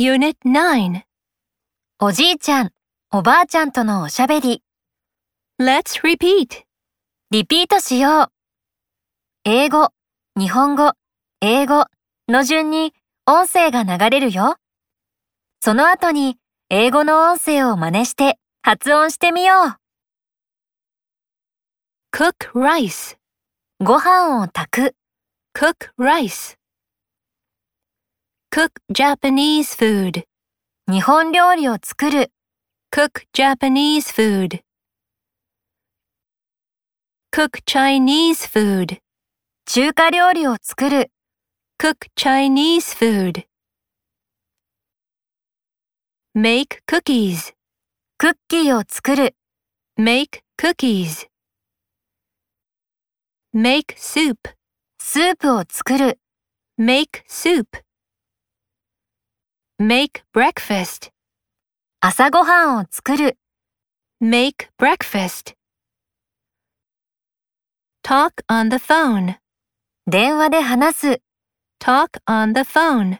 Unit 9. おじいちゃん、おばあちゃんとのおしゃべり。 Let's repeat. リピートしよう。英語、日本語、英語の順に音声が流れるよ。その後に英語の音声を真似して発音してみよう。 Cook rice. ご飯を炊く。 Cook rice. Cook Japanese food. 日本料理を作る。 Cook Japanese food. Cook Chinese food. 中華料理を作る。 Cook Chinese food. Make cookies. クッキーを作る。 Make cookies. Make soup. スープを作る。 Make soup. Make breakfast. 朝ごはんを作る。 Make breakfast. Talk on the phone. 電話で話す。 Talk on the phone.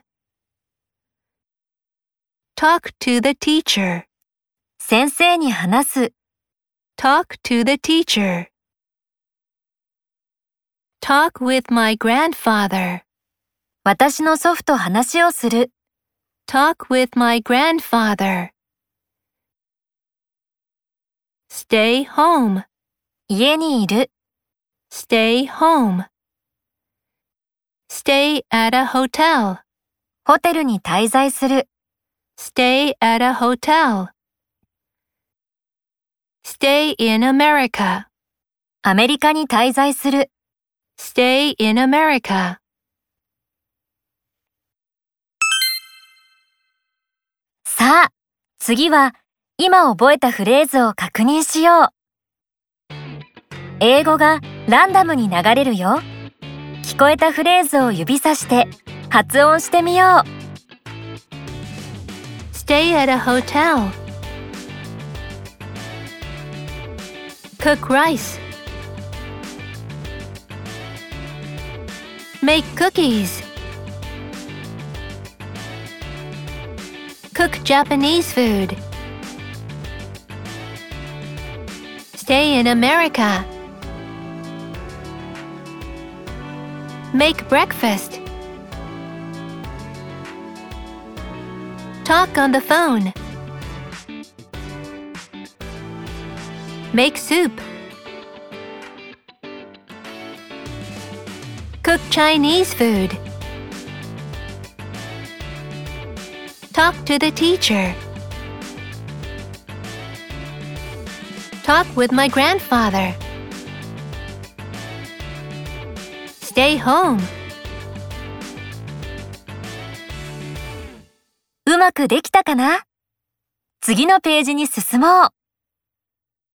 Talk to the teacher. 先生に話す。 Talk to the teacher. Talk with my grandfather. 私の祖父と話をする。 Talk with my grandfather. Stay home. 家にいる。 Stay home. Stay at a hotel. ホテルに滞在する。 Stay at a hotel. Stay in America. アメリカに滞在する。 Stay in America. さあ、次は今覚えたフレーズを確認しよう。英語がランダムに流れるよ。聞こえたフレーズを指さして発音してみよう。 Stay at a hotel. Cook rice. Make cookies. Cook Japanese food. Stay in America. Make breakfast. Talk on the phone. Make soup. Cook Chinese food. Talk to the teacher. Talk with my grandfather. Stay home. うまくできたかな？次のページに進もう。